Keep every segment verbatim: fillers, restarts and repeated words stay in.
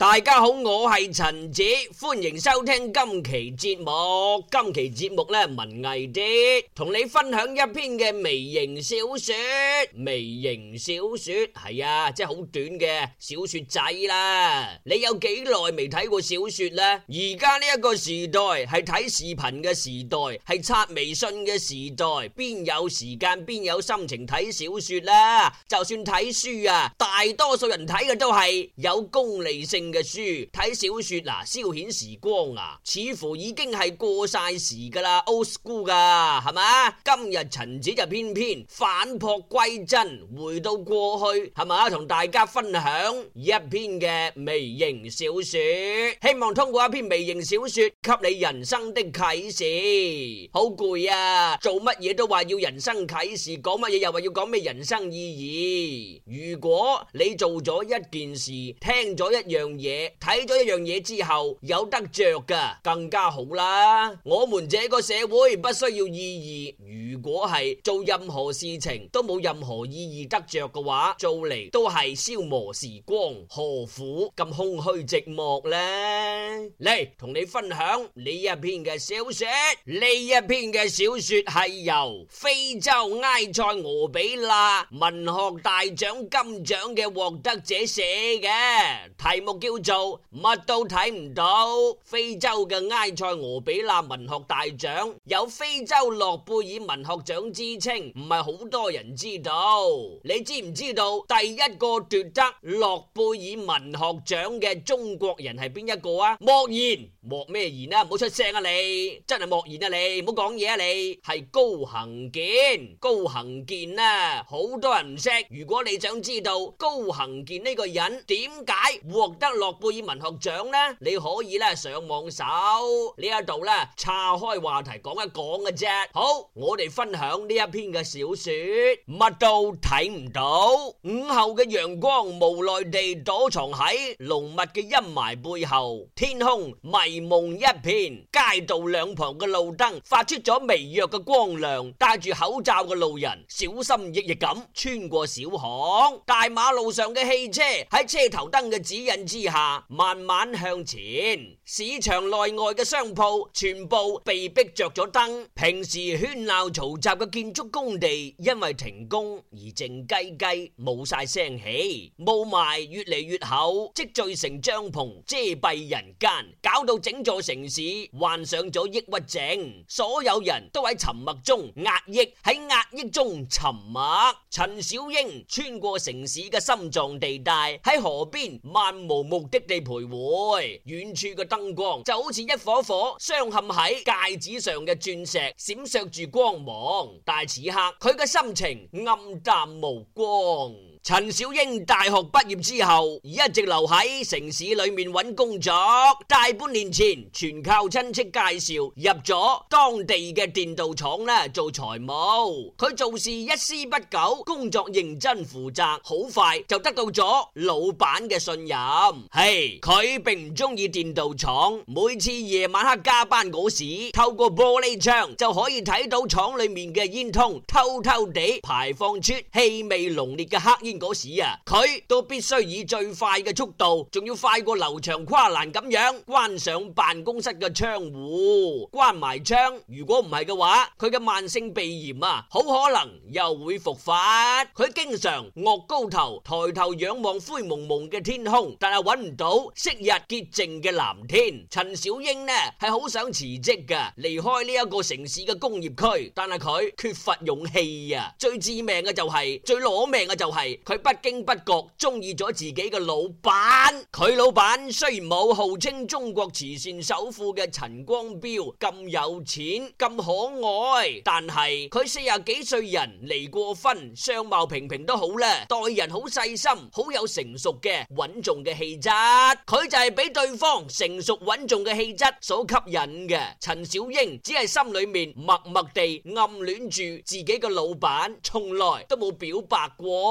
大家好，我係陳子，歡迎收聽今期節目。今期節目咧文藝啲，同你分享一篇嘅微型小說。微型小說係啊，即係好短嘅小說仔啦。你有幾耐未睇過小說呢？而家呢一個時代係睇視頻嘅時代，係刷微信嘅時代，邊有時間邊有心情睇小說啦？就算睇書啊，大多數人睇嘅都係有功利性嘅書。睇小說嗱，消遣時光啊，似乎已經係過晒時噶啦 ，old school 噶，係嘛？今日陳子就偏偏返璞歸真，回到過去，係嘛？同大家分享一篇嘅微型小說，希望通過一篇微型小說，給你人生的啟示。好攰啊，做乜嘢都話要人生啟示，講乜嘢又話要講咩人生意義。如果你做咗一件事，聽咗一樣嘢，睇咗一樣嘢之後有得着噶，更加好啦。我們這個社會不需要意義，如果係做任何事情都冇任何意義得着嘅話，做嚟都係消磨時光，何苦咁空虛寂寞呢？嚟同你分享呢一篇嘅小說，呢一篇嘅小說係由非洲埃塞俄比亞文學大獎金獎嘅獲得者寫嘅，題目叫做乜都睇唔到。非洲嘅埃塞俄比亞文學大獎有非洲諾貝爾文學獎之稱，唔係好多人知道。你知唔知道第一個奪得諾貝爾文學獎嘅中國人係邊一個啊？莫言，莫咩言啊？唔好出聲啊你，真係莫言啊你，唔好講嘢啊你，係高行健。高行健啊，好多人唔識。如果你想知道高行健呢個人點解獲得諾貝爾文學獎呢？你可以咧上網搜呢一度咧，岔開話題講一講嘅啫。好，我哋分享呢一篇嘅小說，乜都睇唔到。午後嘅陽光無奈地躲藏喺濃密嘅陰霾背後，天空迷蒙一片，街道兩旁嘅路燈發出咗微弱嘅光亮，戴住口罩嘅路人小心翼翼咁穿過小巷，大馬路上嘅汽車喺車頭燈嘅指引之下慢慢向前，市場內外嘅商鋪全部被逼着咗燈，平時喧鬧嘈雜嘅建築工地因為停工而靜雞雞冇晒聲氣，霧霾越嚟越厚，積聚成帳篷遮蔽人間，搞到整座城市患上咗抑鬱症，所有人都喺沉默中壓抑，喺壓抑中沉默。陳小英穿過城市嘅心臟地帶，喺河邊漫無目的地徘徊，遠處嘅燈光就好似一顆顆鑲嵌喺戒指上嘅鑽石，閃爍住光芒，但係此刻佢嘅心情暗淡無光。陳小英大學畢業之後一直留喺城市裏面揾工作，大半年前全靠親戚介紹入咗當地嘅電鍍廠咧做財務。佢做事一絲不苟，工作認真負責，好快就得到咗老闆嘅信任。係佢並唔中意電鍍廠，每次夜晚黑加班嗰時，透過玻璃窗就可以睇到廠裏面嘅煙囪偷偷地排放出氣味濃烈嘅黑煙。嗰時啊，佢都必須以最快嘅速度，仲要快過劉翔跨欄咁樣關上辦公室嘅窗戶，關埋窗。如果唔係嘅話，佢嘅慢性鼻炎啊，好可能又會復發。佢經常昂高頭，抬頭仰望灰蒙蒙嘅天空，但係揾唔到昔日潔淨嘅藍天。陳小英呢係好想辭職㗎，離開呢一個城市嘅工業區，但係佢缺乏勇氣啊。最致命嘅就係、是，最攞命嘅就係、是。佢不經不覺中意咗自己嘅老闆，佢老闆雖然冇號稱中國慈善首富嘅陳光標咁有錢咁可愛，但係佢四十幾歲人離過婚，相貌平平都好啦，待人好細心，好有成熟嘅穩重嘅氣質，佢就係俾對方成熟穩重嘅氣質所吸引嘅。陳小英只係心裏面默默地暗戀住自己嘅老闆，從來都冇表白過。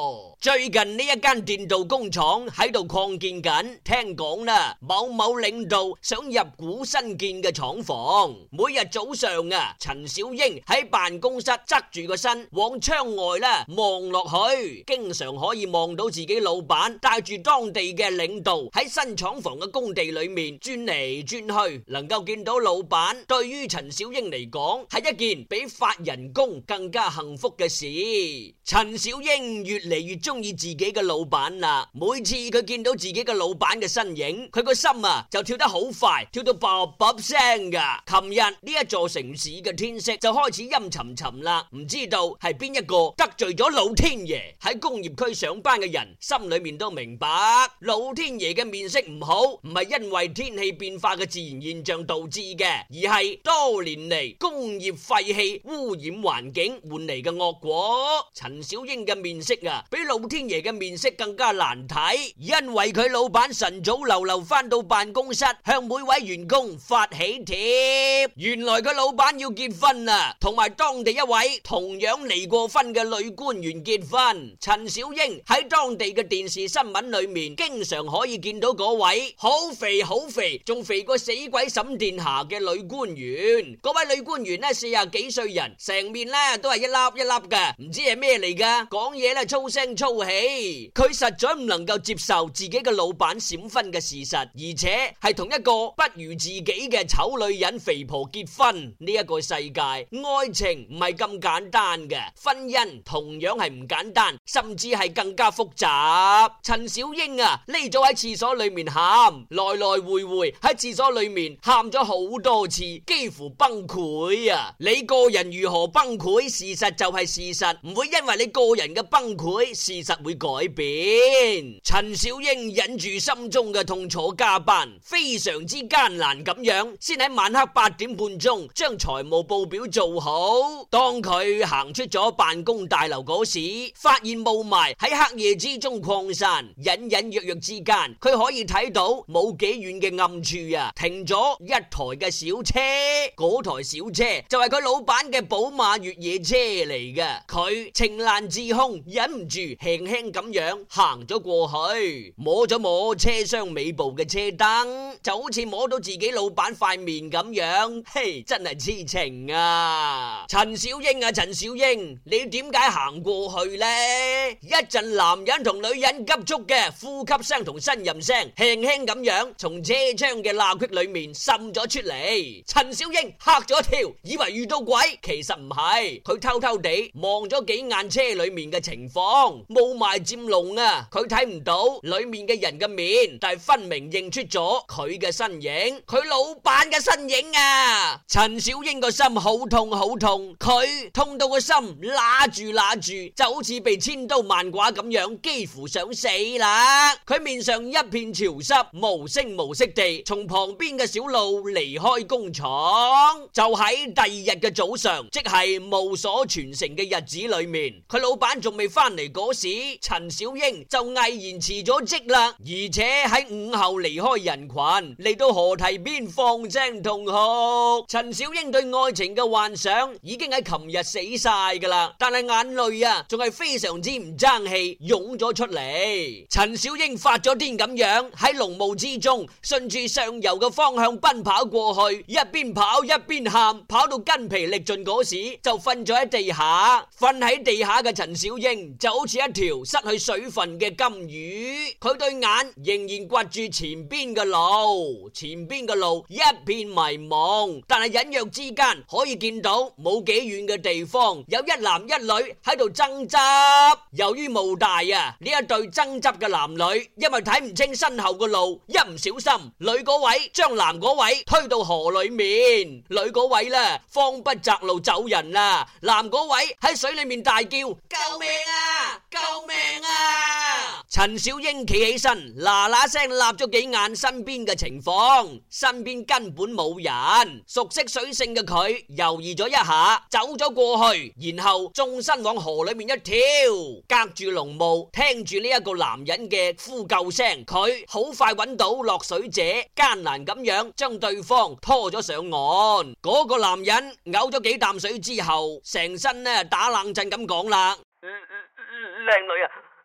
最近呢一間電鍍工廠喺度擴建緊，聽講啦，某某領導想入股新建嘅廠房。每日早上啊，陳小英喺辦公室側住個身往窗外啦望落去，經常可以望到自己老闆帶住當地嘅領導喺新廠房嘅工地裏面轉嚟轉去，能夠見到老闆，對於陳小英嚟講係一件比發人工更加幸福嘅事。陳小英越嚟越中意自己嘅老闆啦，每次佢見到自己嘅老闆嘅身影，佢個心啊就跳得好快，跳到啵啵聲噶。琴日呢一座城市嘅天色就開始陰沉沉啦，唔知道係邊一個得罪咗老天爺。喺工業區上班嘅人心裏面都明白，老天爺嘅面色唔好，唔係因為天氣變化嘅自然現象導致嘅，而係多年嚟工業廢氣污染環境換嚟嘅惡果。陳小英嘅面色啊，比老天爺嘅面色更加難睇，因為佢老闆晨早流流翻到辦公室，向每位員工發喜帖。原來佢老闆要結婚啊，同埋當地一位同樣離過婚嘅女官員結婚。陳小英喺當地嘅電視新聞裏面，經常可以見到嗰位好肥好肥，仲肥過死鬼沈殿霞嘅女官員。嗰位女官員呢，四十幾歲人，成面呢都係一粒一粒嘅，唔知係咩嚟噶，講嘢咧粗聲粗氣。佢實在唔能夠接受自己嘅老闆閃婚嘅事實，而且係同一個不如自己嘅醜女人肥婆結婚。呢一個世界，愛情唔係咁簡單嘅，婚姻同樣係唔簡單，甚至係更加複雜。陳小英啊，匿咗喺廁所裏面喊，來來回回喺廁所裏面喊咗好多次，幾乎崩潰啊！你個人如何崩潰，事實就係事實，唔會因為你個人嘅崩潰，事實會改變。陳小英忍住心中嘅痛楚加班，非常之艱難咁樣，先喺晚黑八點半鐘將財務報表做好。當佢行出咗辦公大樓嗰時，發現霧霾喺黑夜之中擴散，隱隱約約之間，佢可以睇到冇幾遠嘅暗處啊，停咗一台嘅小車。嗰台小車就係佢老闆嘅寶馬越野車嚟嘅。佢情難自控，忍唔住輕輕咁樣行咗過去，摸咗摸車廂尾部嘅車燈，就好似摸到自己老闆塊面咁樣。嘿，真係痴情啊！陳小英啊，陳小英，你點解行過去呢？一陣男人同女人急促嘅呼吸聲同呻吟聲，輕輕咁樣從車窗嘅罅隙裏面滲咗出嚟。陳小英嚇咗一跳，以為遇到鬼，其實唔係。佢偷偷地望咗幾眼車裏面嘅情況，霧霾漸濃啊，佢睇唔到裏面嘅人嘅面，但係分明認出咗佢嘅身影，佢老闆嘅身影啊！陳小英個心好痛好痛，佢痛到個心揦住揦住，就好似被千刀萬剮咁樣，幾乎想死啦！佢面上一片潮濕，無聲無息地從旁邊嘅小路離開工廠。就喺第二日嘅早上，即係無所傳承嘅日子裏面，佢老闆仲未翻嚟嗰時，陳小英就毅然辭咗職啦，而且喺午後離開人群，嚟到河堤邊放聲痛哭。陳小英對愛情嘅幻想已經喺琴日死晒噶啦，但係眼淚啊，仲係非常之唔爭氣湧咗出嚟。陳小英發咗癲咁樣喺濃霧之中，順住上游嘅方向奔跑過去，一邊跑一邊喊，跑到筋疲力盡嗰時就瞓咗喺地下。瞓喺地下嘅陳小英就好似一條失去水分嘅金魚，佢對眼仍然刮住前邊嘅路，前邊嘅路一片迷蒙，但係隱約之間可以見到冇幾遠嘅地方有一男一女喺度爭執。由於霧大啊，呢一對爭執嘅男女因為睇唔清身後嘅路，一唔小心女嗰位將男嗰位推到河裏面，女嗰位呢慌不擇路走人啦，男嗰位喺水裏面大叫救命啊救命啊！陳小英企起身嗱嗱聲立咗幾眼身邊嘅情況，身邊根本冇人。熟悉水性嘅佢猶豫咗一下，走咗過去，然後縱身往河裏面一跳，隔住濃霧聽住呢一個男人嘅呼救聲，佢好快揾到落水者，艱難咁樣將對方拖咗上岸。嗰個男人嘔咗幾啖水之後，成身呢打冷震咁講啦：靚女啊，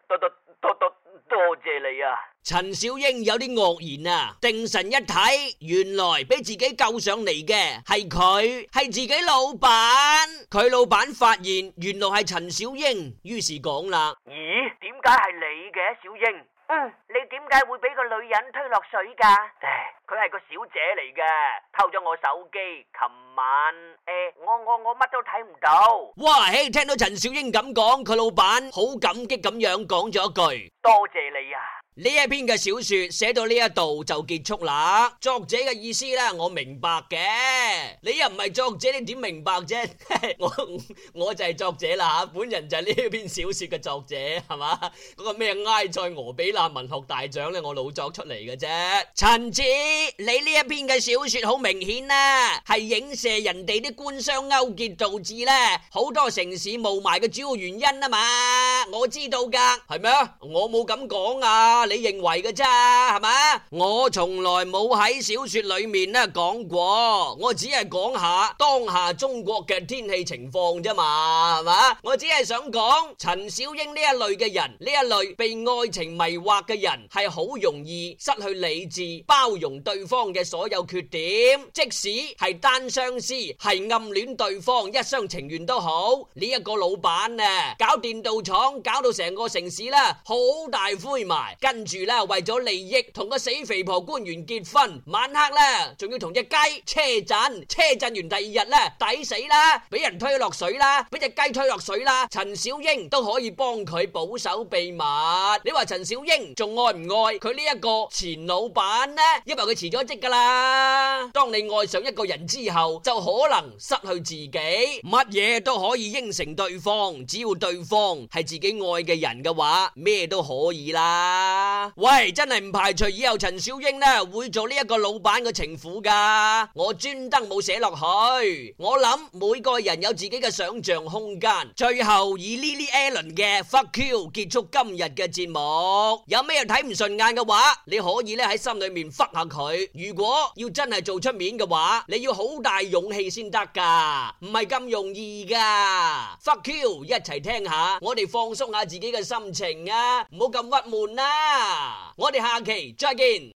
多多多多多謝你啊！ 陳小英有啲愕然啊，定神一睇，原來俾自己救上嚟嘅係佢，係自己老闆。佢老闆發現原來係陳小英，於是講啦： 咦，點解係你嘅小英？嗯，你點解會俾個女人推落水噶？唉，佢係個小姐嚟嘅，偷咗我手機。琴晚誒，我我我乜都睇唔到。 哇嘿！聽到陳小英咁講，佢老闆好感激咁樣講咗一句： 多謝你啊！ 呢一篇嘅小說寫到呢一度就結束啦。作者嘅意思呢，我明白嘅。你又唔係作者，你點明白啫？我我就係作者啦吓，本人就係呢一篇小說嘅作者，係嘛？嗰個咩埃塞俄比亞文學大獎呢，我老作出嚟嘅啫。陳子，你呢一篇嘅小說好明顯啦，係影射人哋啲官商勾結導致呢好多城市霧霾嘅主要原因啊嘛。我知道噶，係咩？我冇咁講啊。你認為嘅咋，係嘛？我從來冇喺小說裏面咧講過，我只係講下當下中國嘅天氣情況啫嘛，係嘛？我只係想講陳小英呢一類嘅人，呢一類被愛情迷惑嘅人，係好容易失去理智，包容對方嘅所有缺點，即使係單相思，係暗戀對方，一廂情願都好。呢一個老闆啊，搞電鍍廠，搞到成個城市啦，好大灰霾。跟住咧，為咗利益同個死肥婆官員結婚，晚黑咧仲要同隻雞車震，車震完第二日咧抵死啦，俾人推落水啦，俾隻雞推落水啦。陳小英都可以幫佢保守秘密。你話陳小英仲愛唔愛佢呢一個前老闆呢？因為佢辭咗職噶啦。當你愛上一個人之後，就可能失去自己，乜嘢都可以應承對方，只要對方係自己愛嘅人嘅話，咩都可以啦。喂，真係唔排除以後陳小英呢會做呢一個老闆嘅情婦噶，我專登冇寫落去。我諗每個人有自己嘅想象空間。最後以 Lily Allen 嘅 Fuck You 結束今日嘅節目。有咩睇唔順眼嘅話，你可以咧喺心裏面 fuck 下佢。如果要真係做出面嘅話，你要好大勇氣先得噶，唔係咁容易噶。Fuck You， 一齊聽下，我哋放鬆下自己嘅心情啊，唔好咁鬱悶啦。我哋下期再見。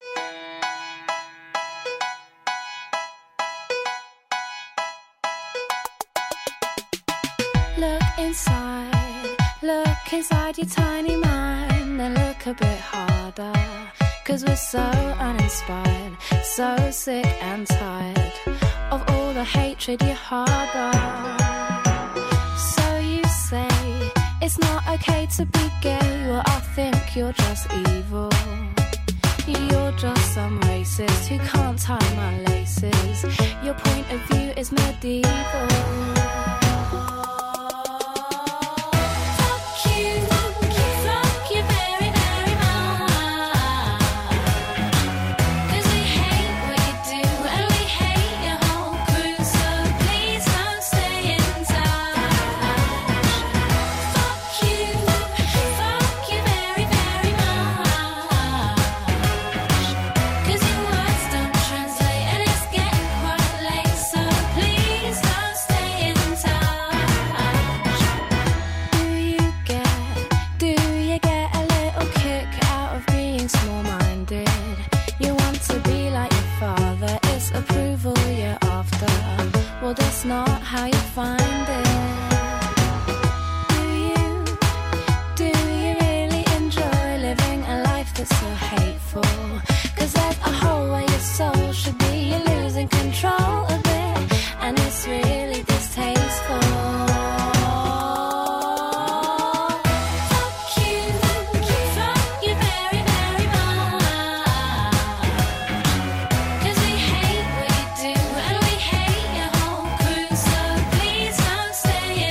Look inside, look inside your tiny mind, then look a bit harder, 'cause we're so uninspired, so sick and tired of all the hatred you harbor. So you say it's not okay to be gay, well I think you're just evil. You're just some racist who can't tie my laces. Your point of view is medieval. Well, that's not how you find it. Do you, do you really enjoy living a life that's so hateful? 'Cause there's a hole where your soul should be. You're losing control of it, and it's really distasteful. Stay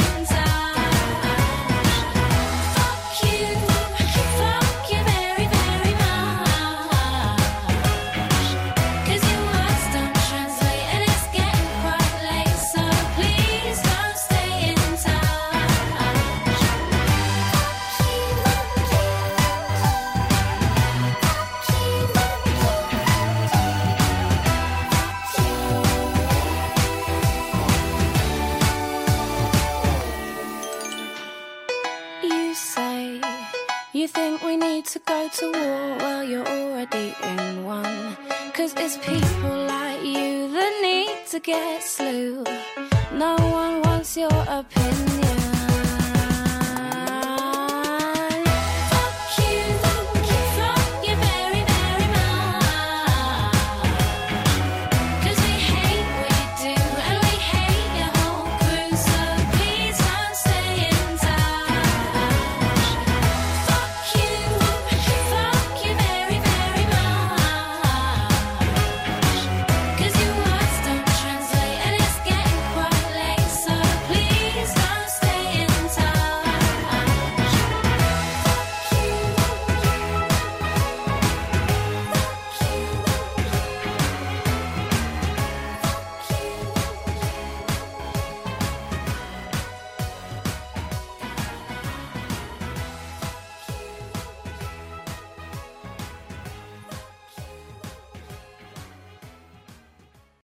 go to war, well, you're already in one. Cause it's people like you that need to get slew. No one wants your opinion.